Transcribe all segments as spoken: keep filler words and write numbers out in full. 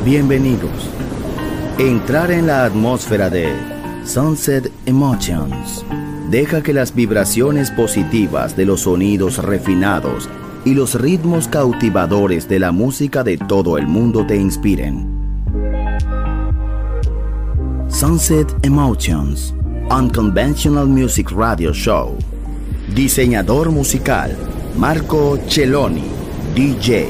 Bienvenidos. Entrar en la atmósfera de Sunset Emotions. Deja que las vibraciones positivas de los sonidos refinados y los ritmos cautivadores de la música de todo el mundo te inspiren. Sunset Emotions, Unconventional Music Radio Show. Diseñador musical, Marco Celloni, D J.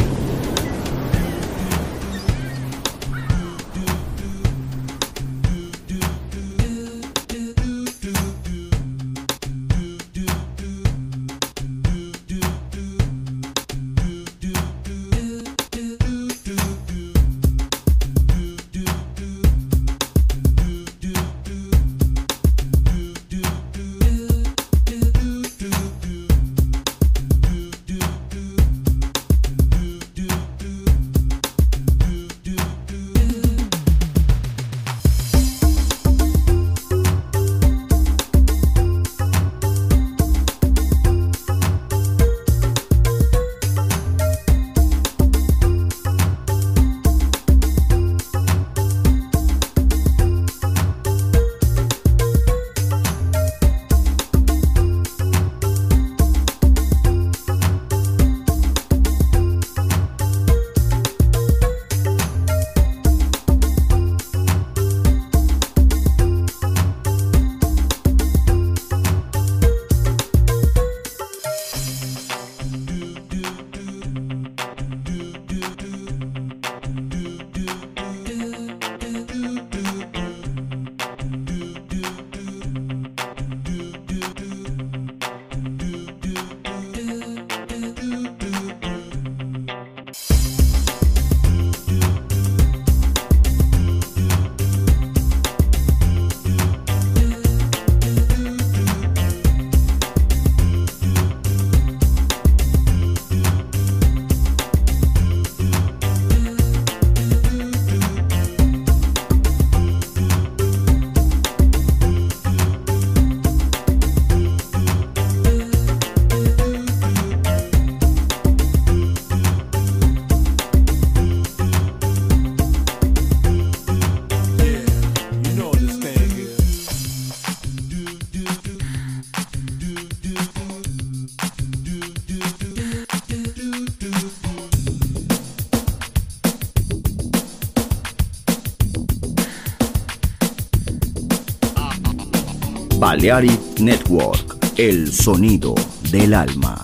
Balearic Network, el sonido del alma.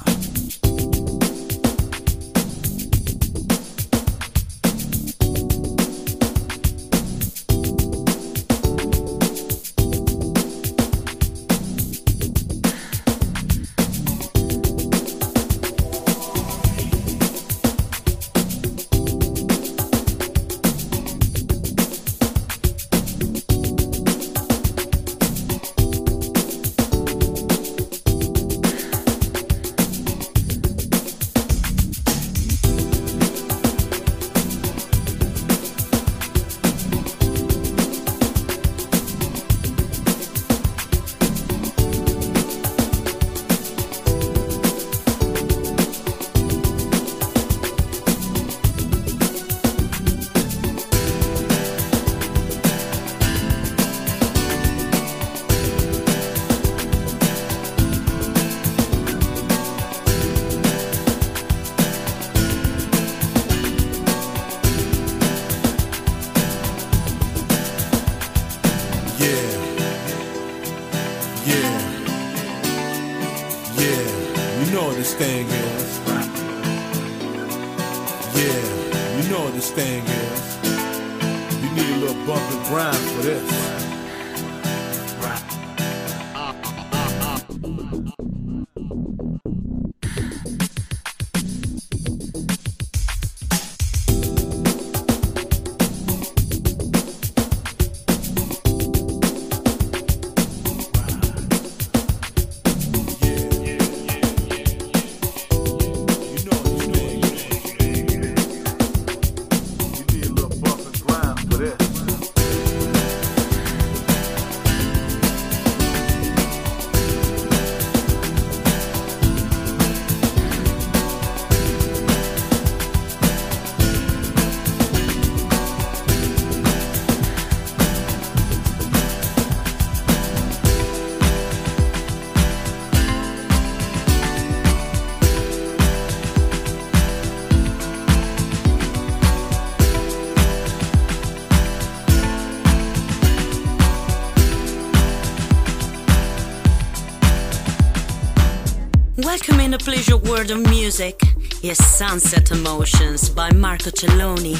In the pleasure world of music is Sunset Emotions by Marco Celloni.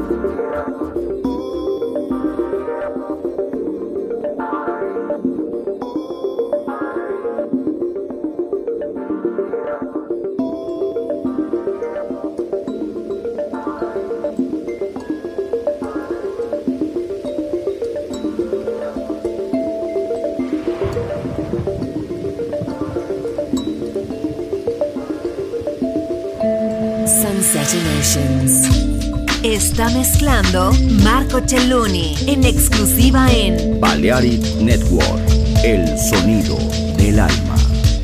Sunset Emotions. Está mezclando Marco Celloni en exclusiva en Balearic Network, el sonido del alma.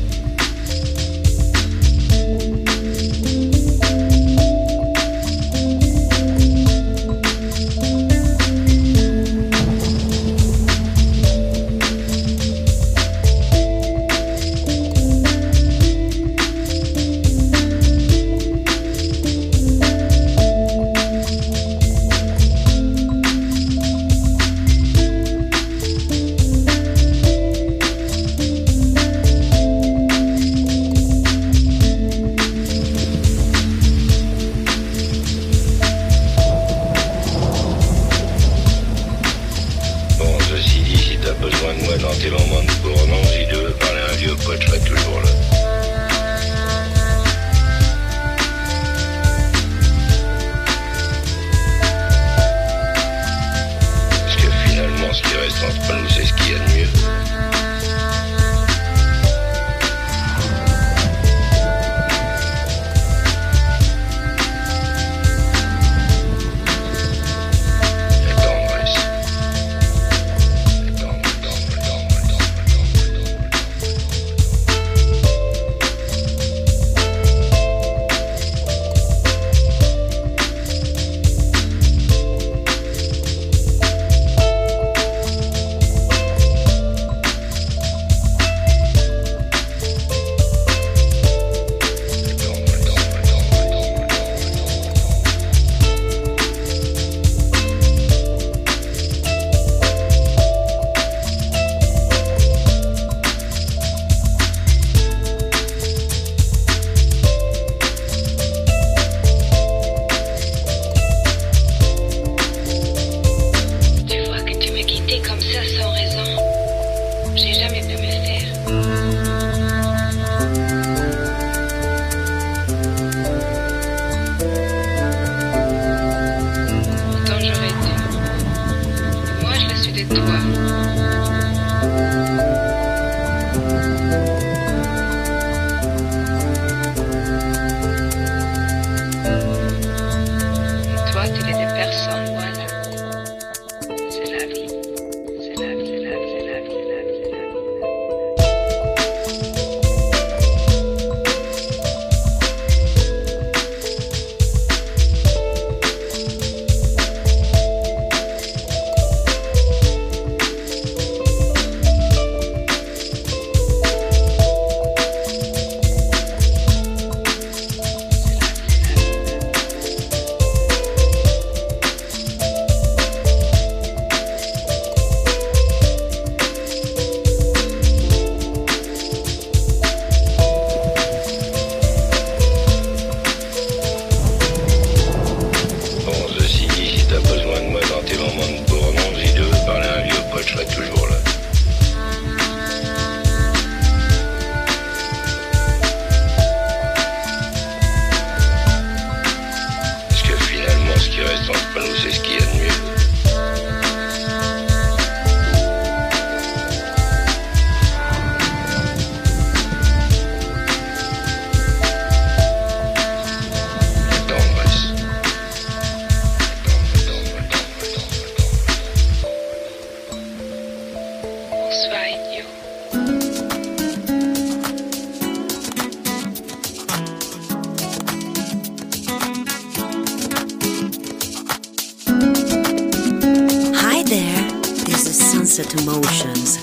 Sunset Emotions.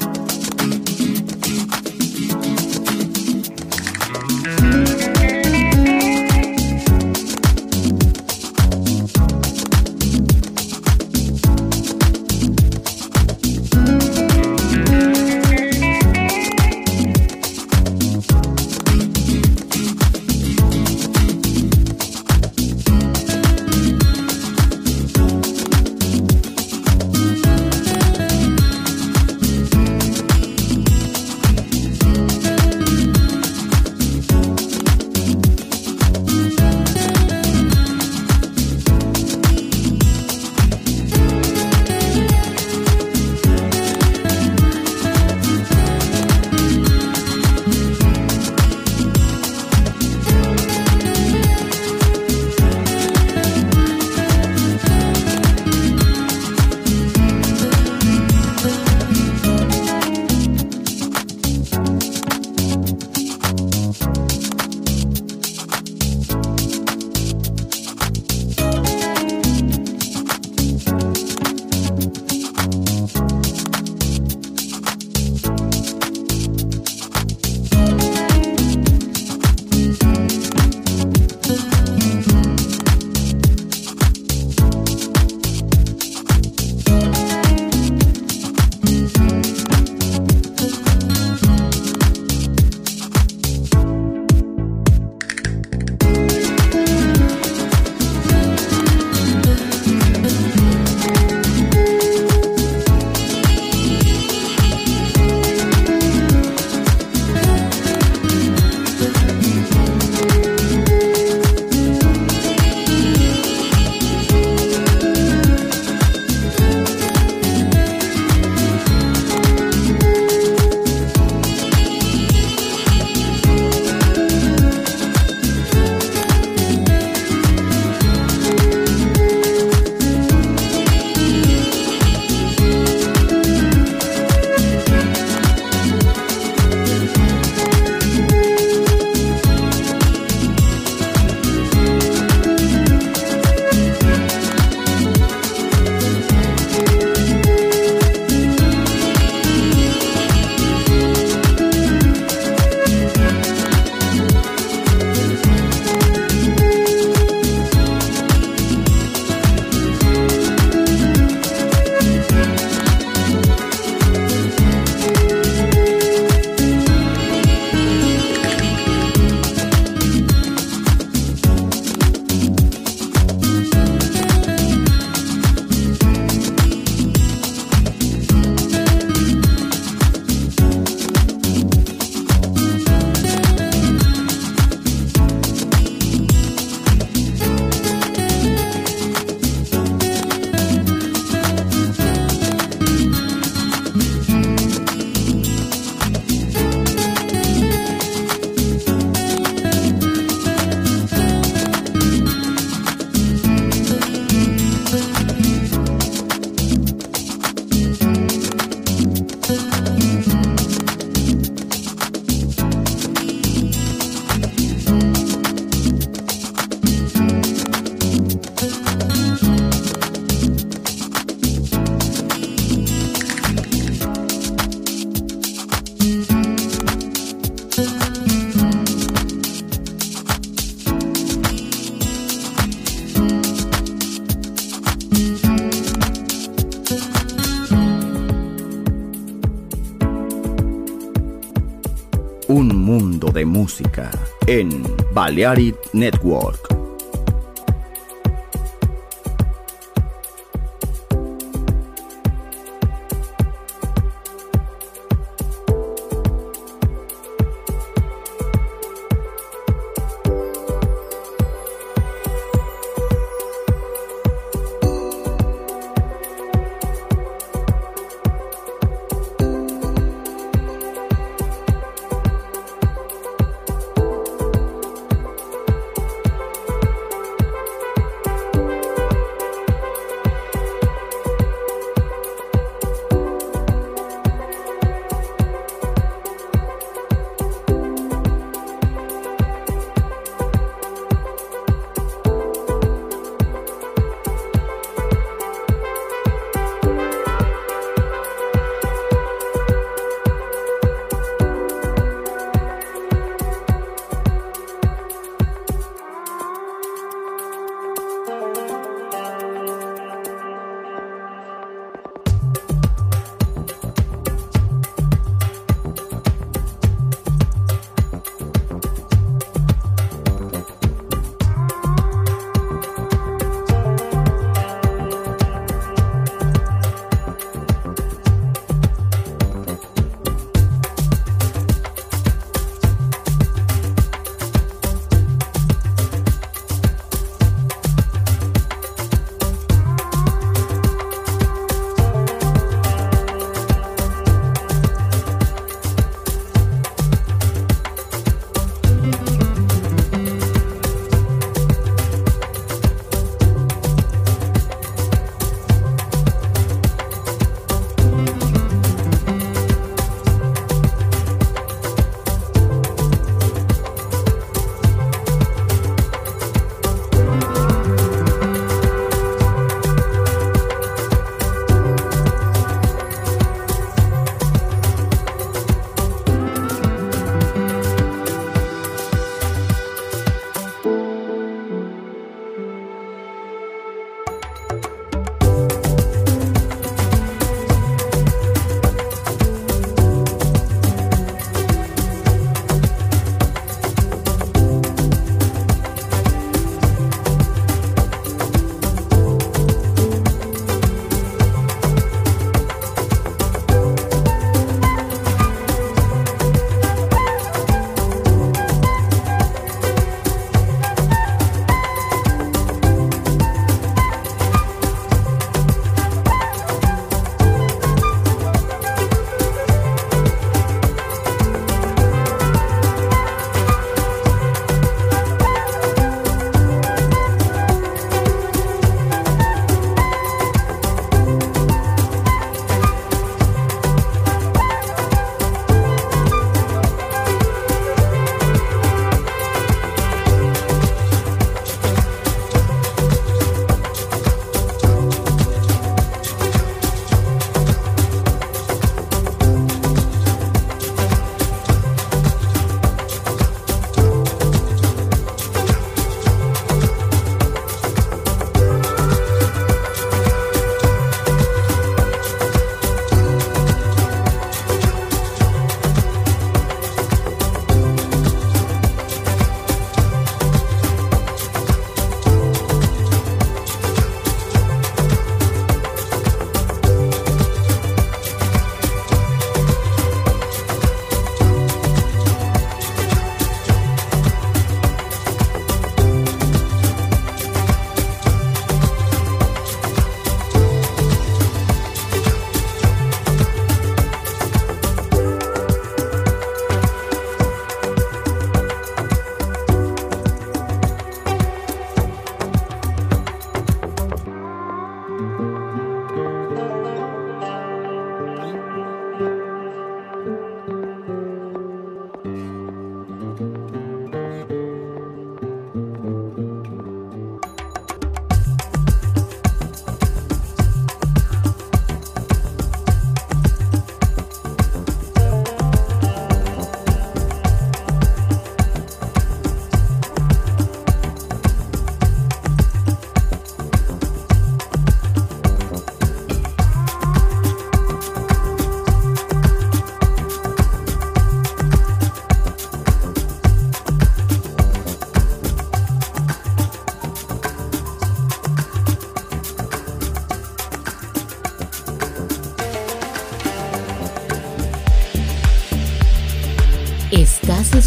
música en Balearic Network.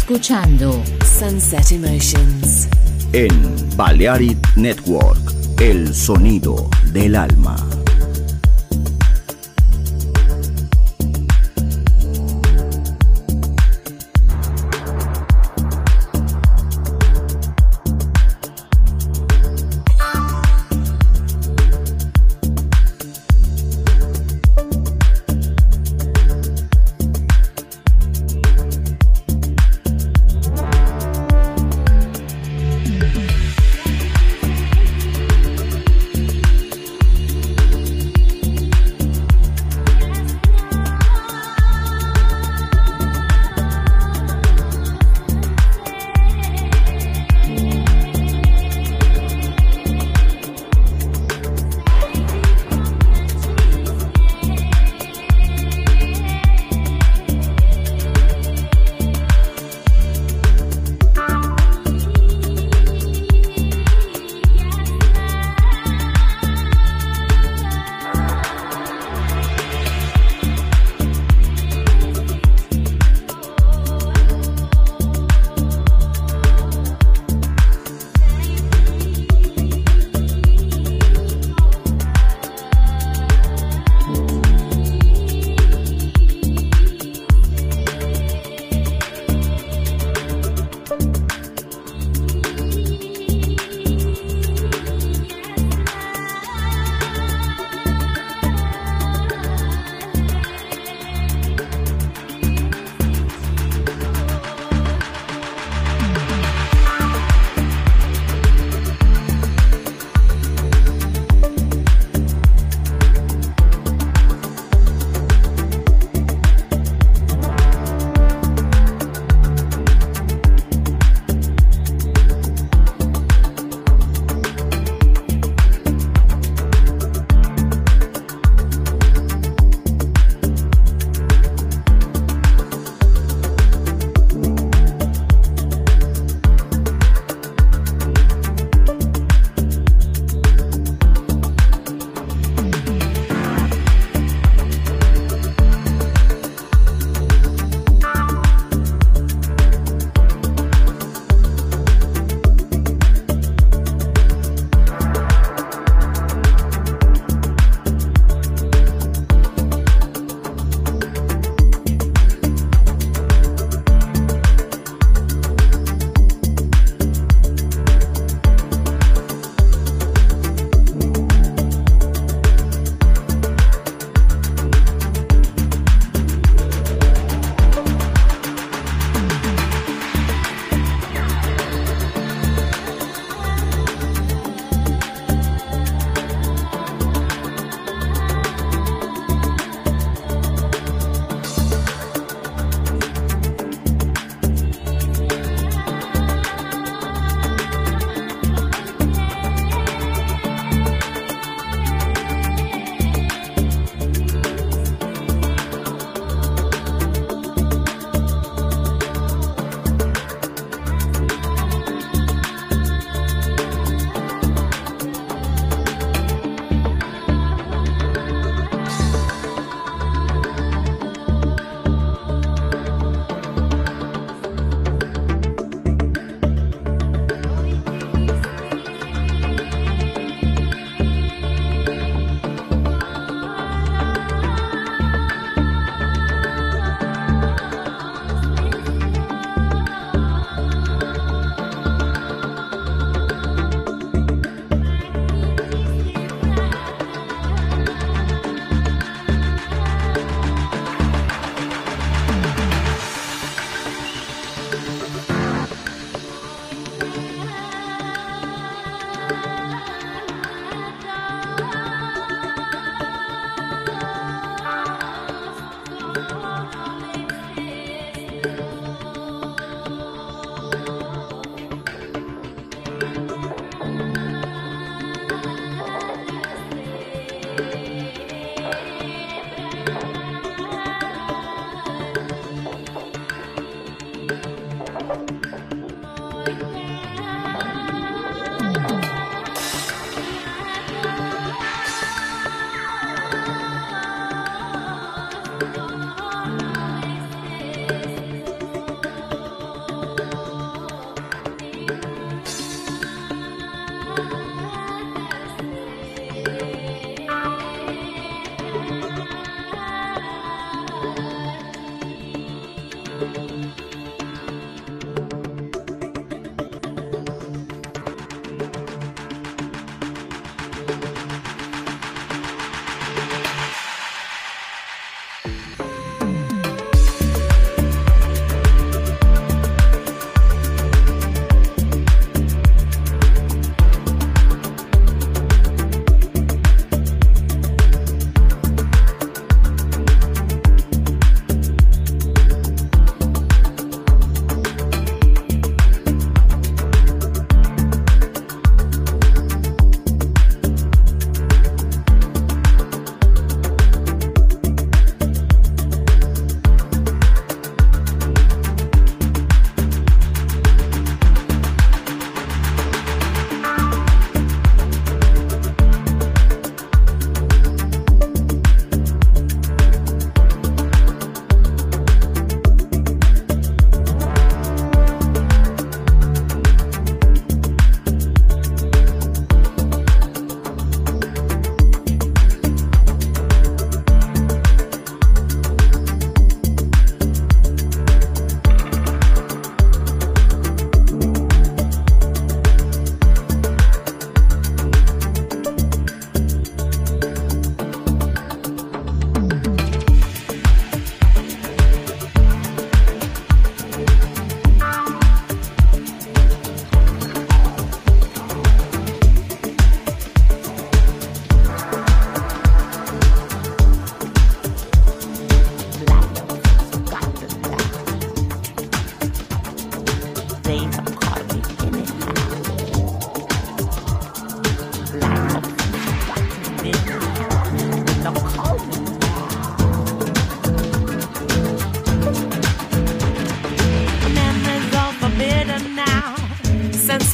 escuchando Sunset Emotions en Balearic Network, el sonido del alma.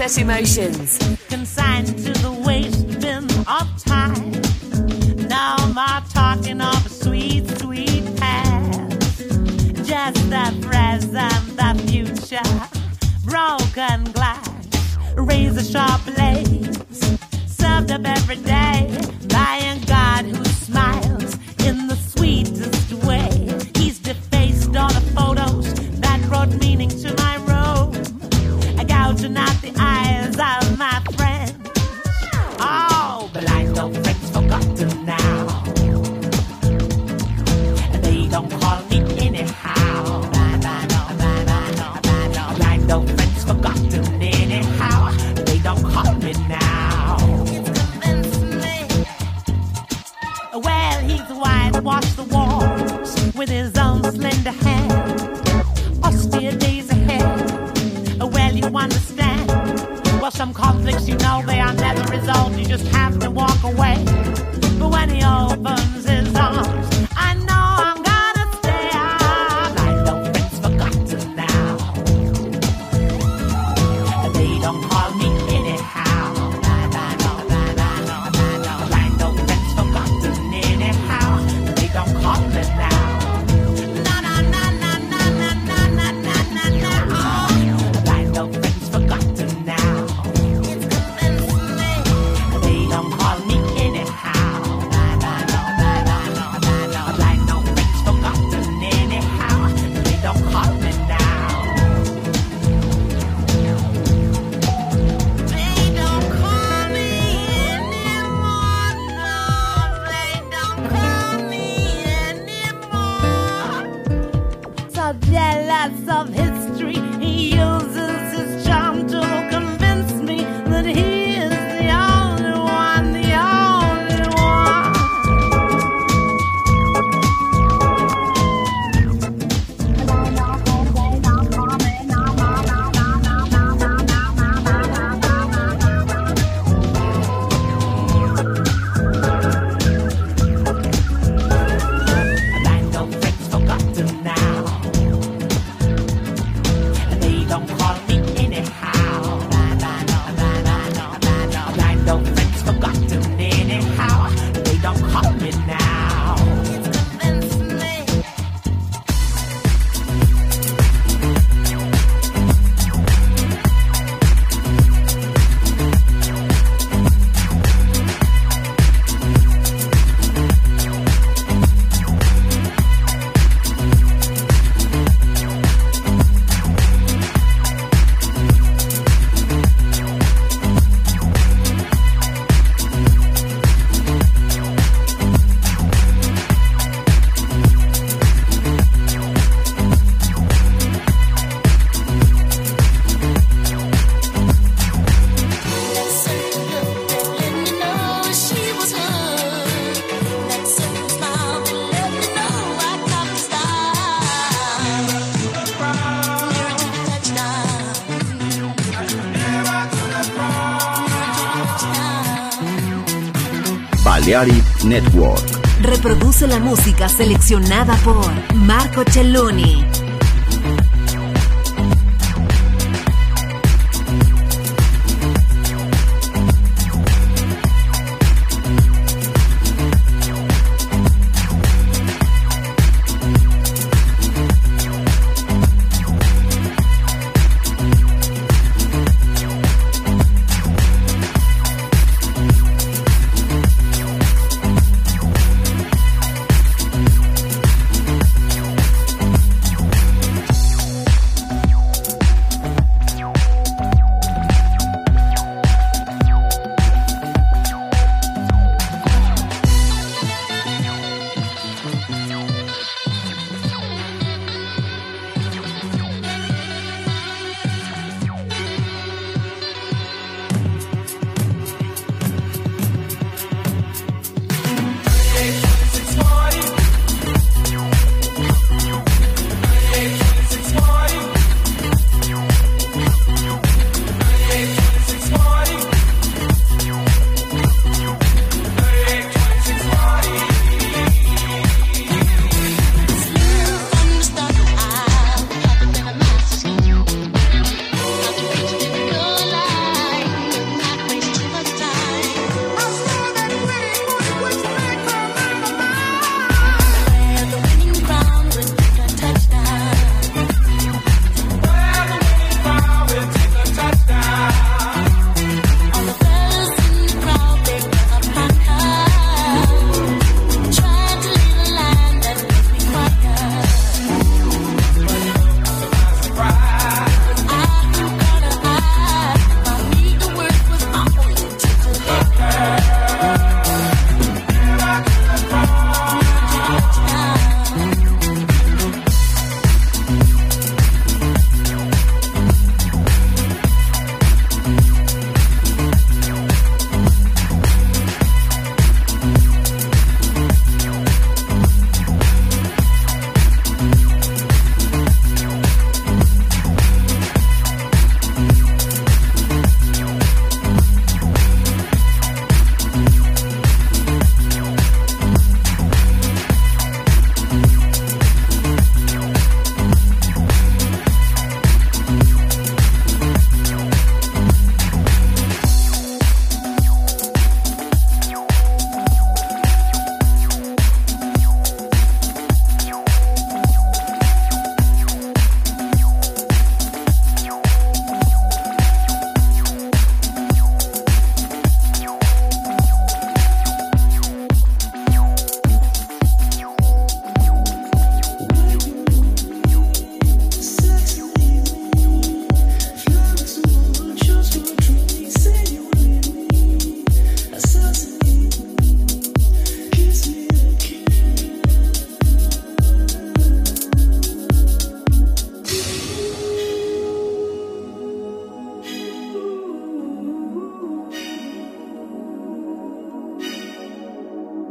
Sunset Emotions. Consigned to the waste bin of time. Now my talking of a sweet, sweet past. Just the present, the future. Broken glass, razor sharp blades. Served up every day by a God who smiles in the sweetest way. He's defaced all the photos that brought meaning to my room, gouging out the eyes of my friends. Oh, but I know friends forgotten now, and they don't call me anyhow. I know friends forgotten anyhow, they don't call me now. Well, he's whitewashed the walls with his own slender hand. Austere days ahead, well, you understand. Well, some conflicts, you know, they are never resolved. You just have to walk away. But when he opens his arms, I know I'm gonna stay. I know friends forgotten now, they don't call me anyhow. I know friends forgotten anyhow, they don't call me now. No, no, no, no, no, no, no, no, no, no. I know friends forgotten now. It's convincing me. They don't call me anyhow. I know friends forgotten anyhow, they don't call me now. They don't call me anymore, no, they don't call me anymore. So jealous of history, he uses his charm to convince me that he is the only one, the only one. And I know friends forgotten now, and they don't call me anyhow. I know friends forgotten anyhow, they don't call me now. It's convincing me. Balearic Network. Reproduce la música seleccionada por Marco Celloni.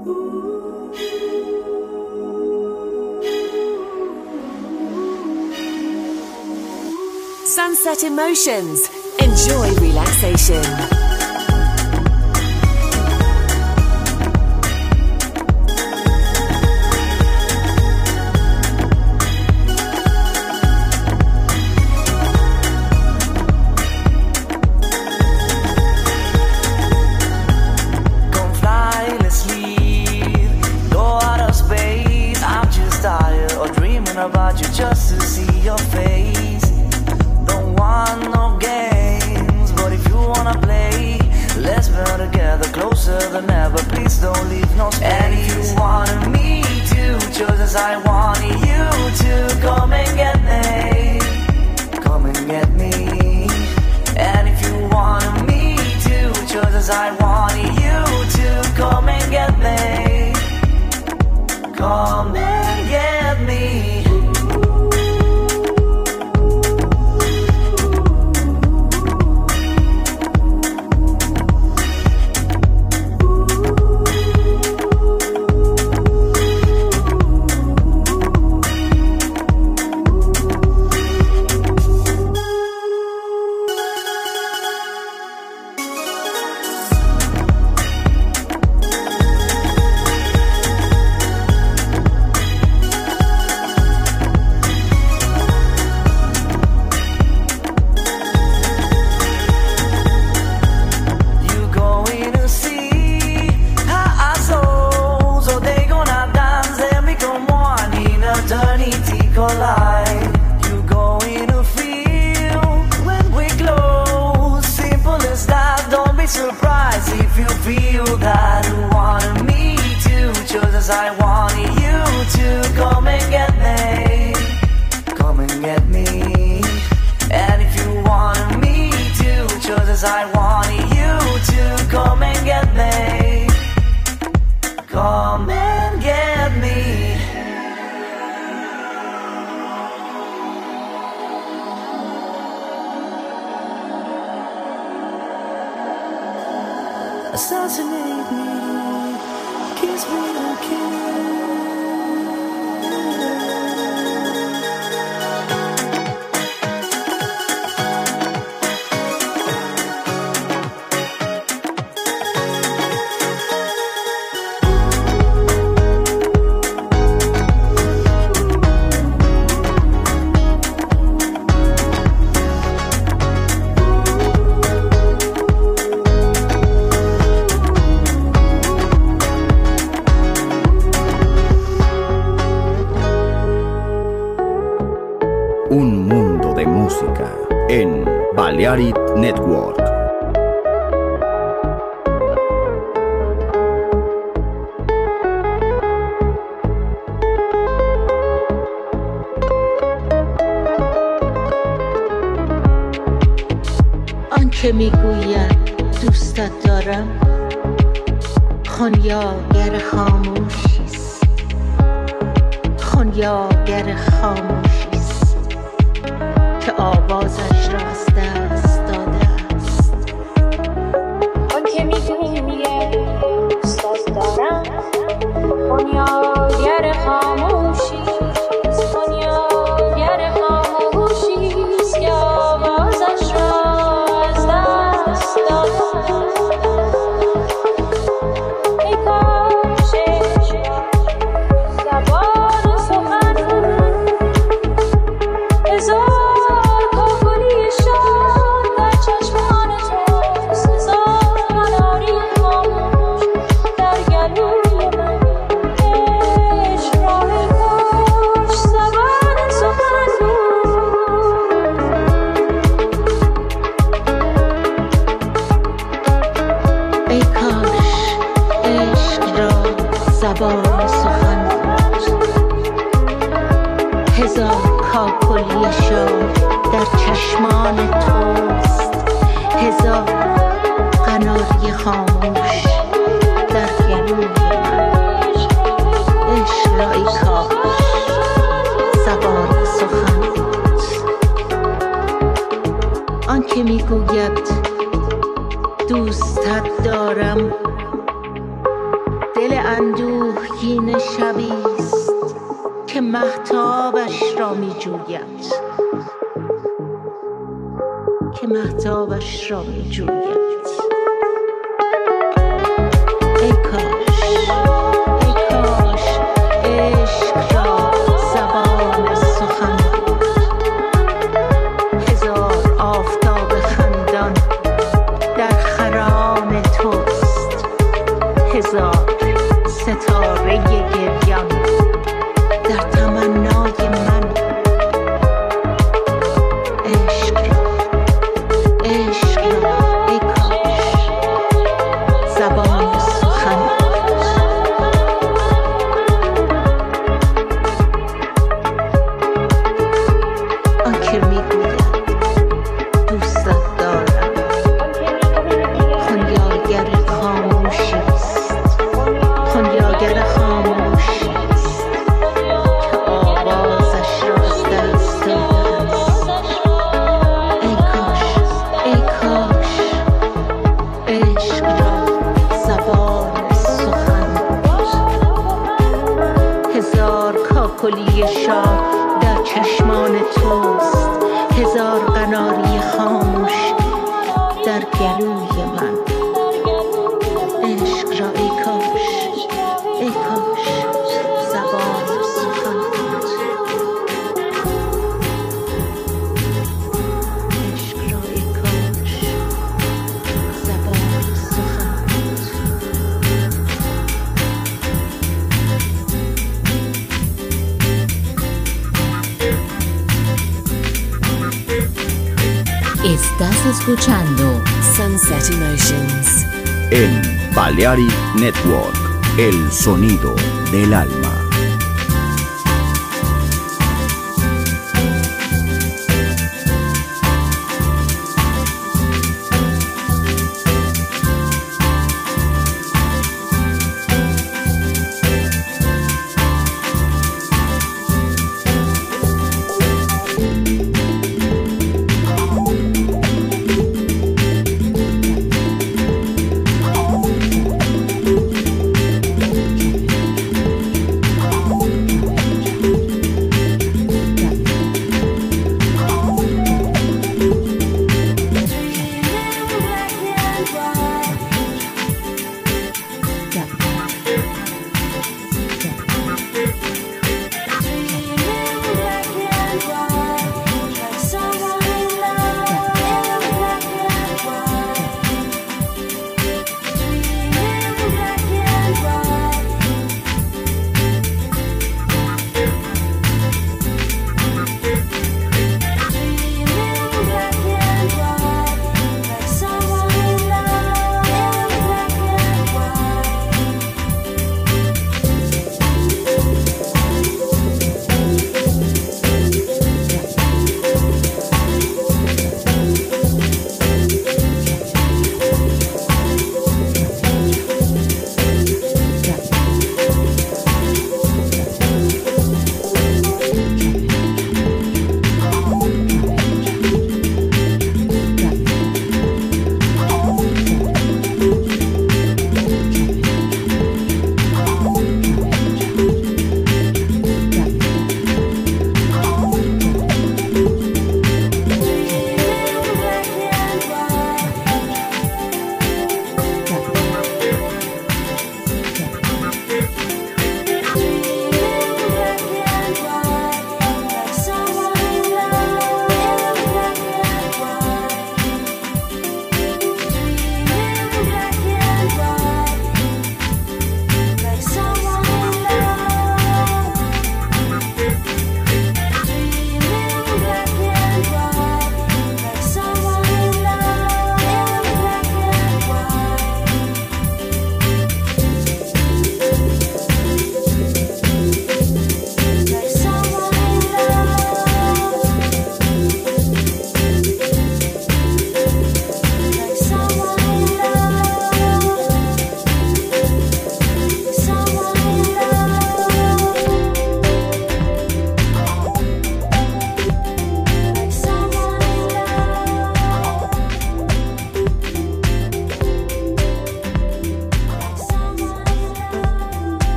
Sunset Emotions. Enjoy relaxation. About you just to see your face. Don't want no games, but if you wanna play, let's build together closer than ever. Please don't leave no space. And if you wanted me to, just as I wanted you to, come and get me, come and get me. And if you wanted me to, just as I wanted you to, come and get me, come and get me. Assassinate me, kiss me again. Un mundo de música en Balearic Network. آنچه میگوید دوستت دارم خونیاگر خاموشیست، خونیاگر خاموشیست که آوازش را از دست داده است. آنکه میگوید دوستت دارم خونیاگر خاموشیست، خونیاگر خاموشیست که آوازش را از دست داده است. ای کاش زبان سخن هزار کاکلی شاد در چشمان توست، هزار مناری خاموش در گلوی من. عشق را ای کاش زبان سخن ای کاش عشق را زبان سخن بود، هزار کاکلی شاد در چشمان توست، هزار قناری خاموش در گلوی من. عشق را ای کاش زبان سخن بود. آنکه میگوید دوستت دارم دل اندوهگین شبیست که مهتابش را می جوید که مهتابش را می جوید ای کاش ای کاش عشق را زبان سخن بود هزار آفتاب خندان در خرام توست هزار ستاره گریان در تمنای من عشق را عشق را ای کاش زبان سخن آنکه میگوید دوستت دارم خنیاگر خاموشیست خنیاگر خاموشیست که آوازش را از دست داده است ای کاش ای کاش عشق را زبان سخن هزار کاکلی شاه در چشمان توست هزار قناری خاموش در گلوی من عشق را ای کاش ای کاش زبان سخن بود عشق را ای کاش زبان سخن بود Estás escuchando Sunset Emotions. En Balearic Network, el sonido del alma.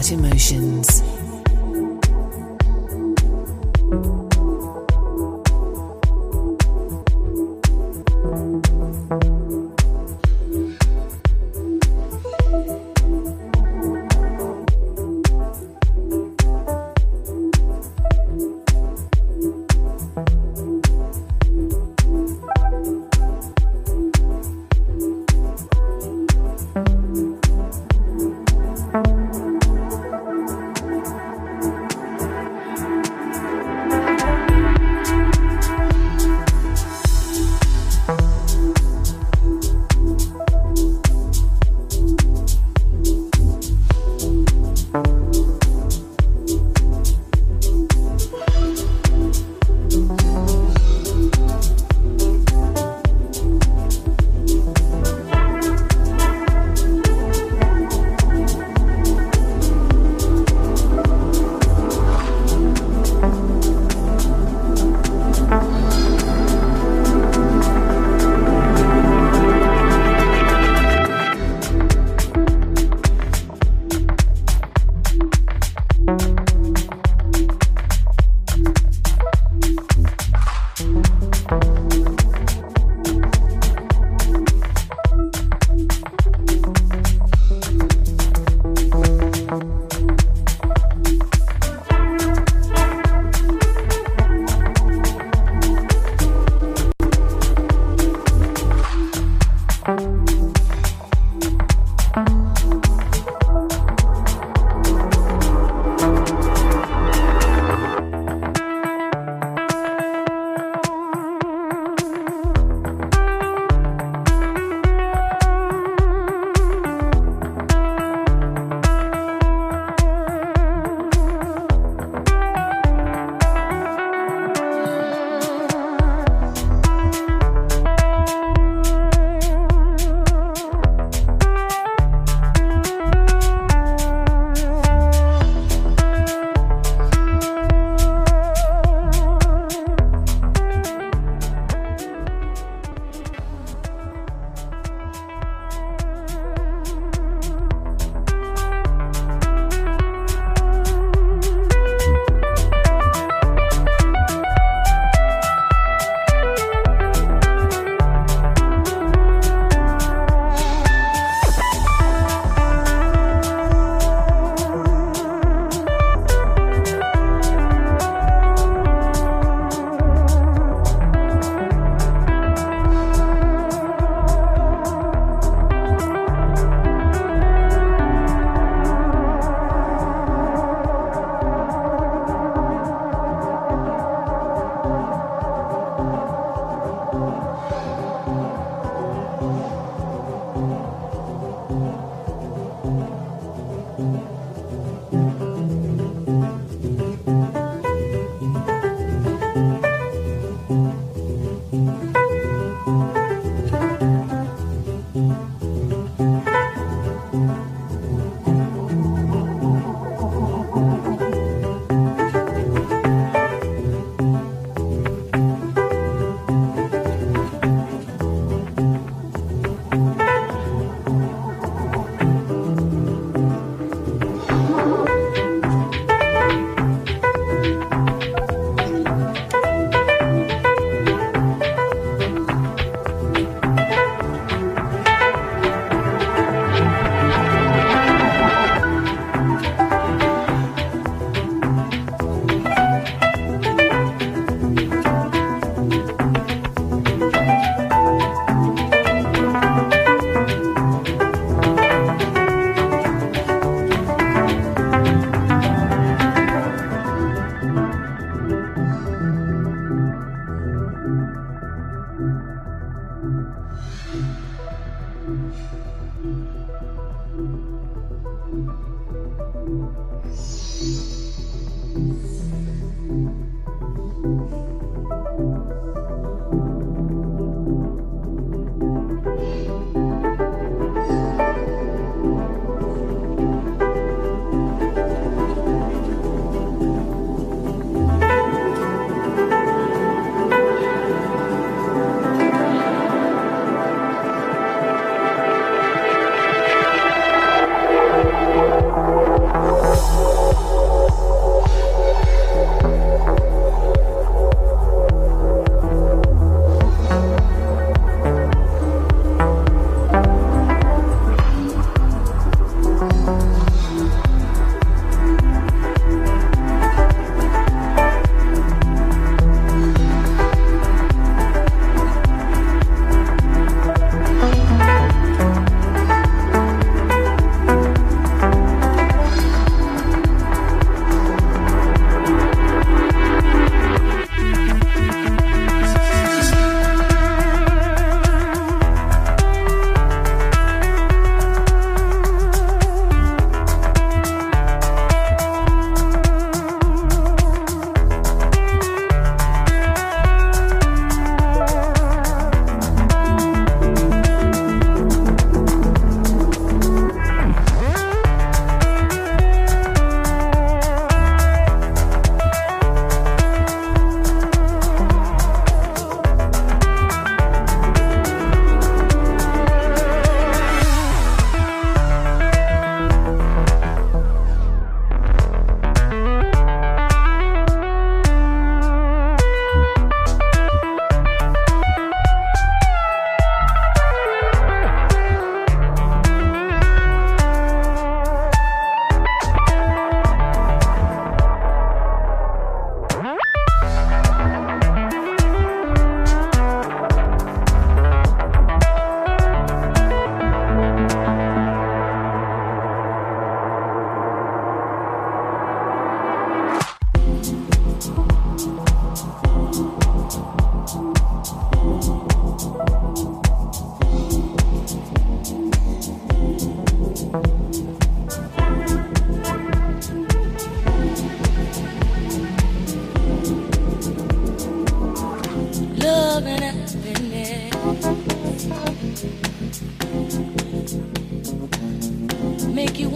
Great Emotions.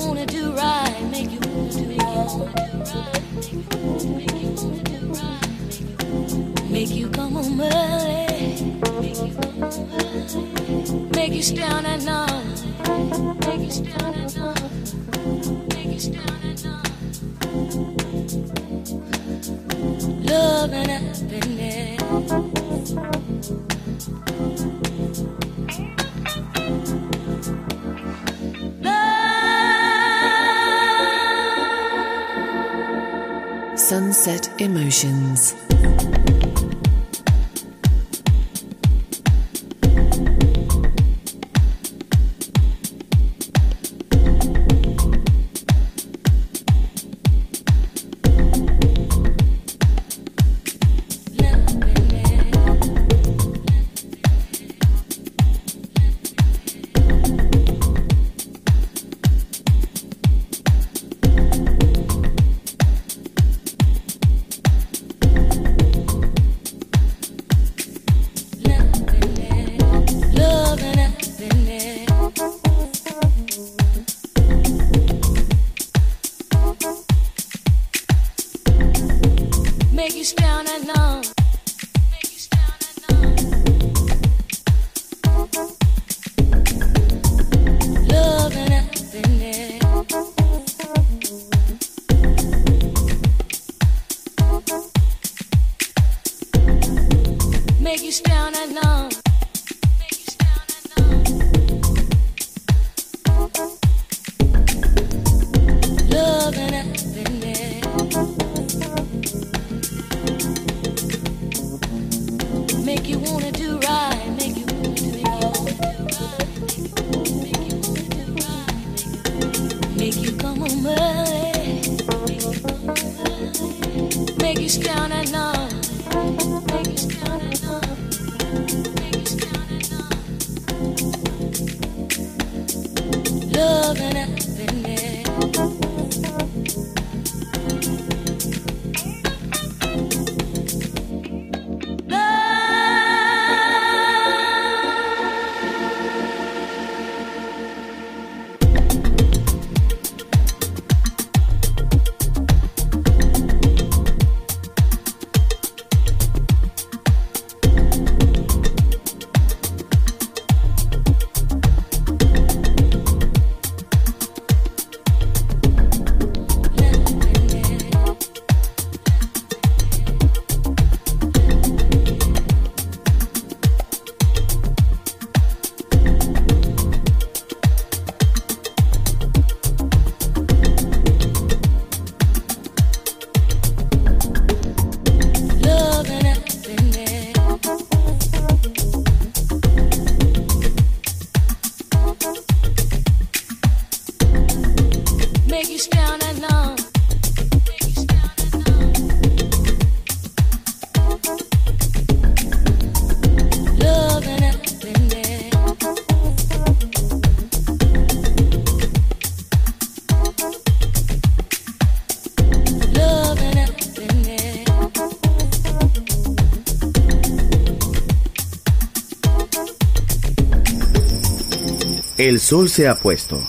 wanna do right, make you wanna do right, make you come home early, make you stay on at night, make you stay on at night, make you stay on at night. Love and happiness. Sunset Emotions. El sol se ha puesto.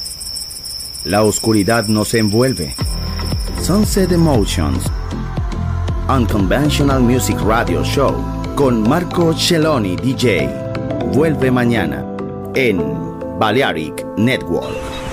La oscuridad nos envuelve. Sunset Emotions, Unconventional Music Radio Show con Marco Celloni D J. Vuelve mañana en Balearic Network.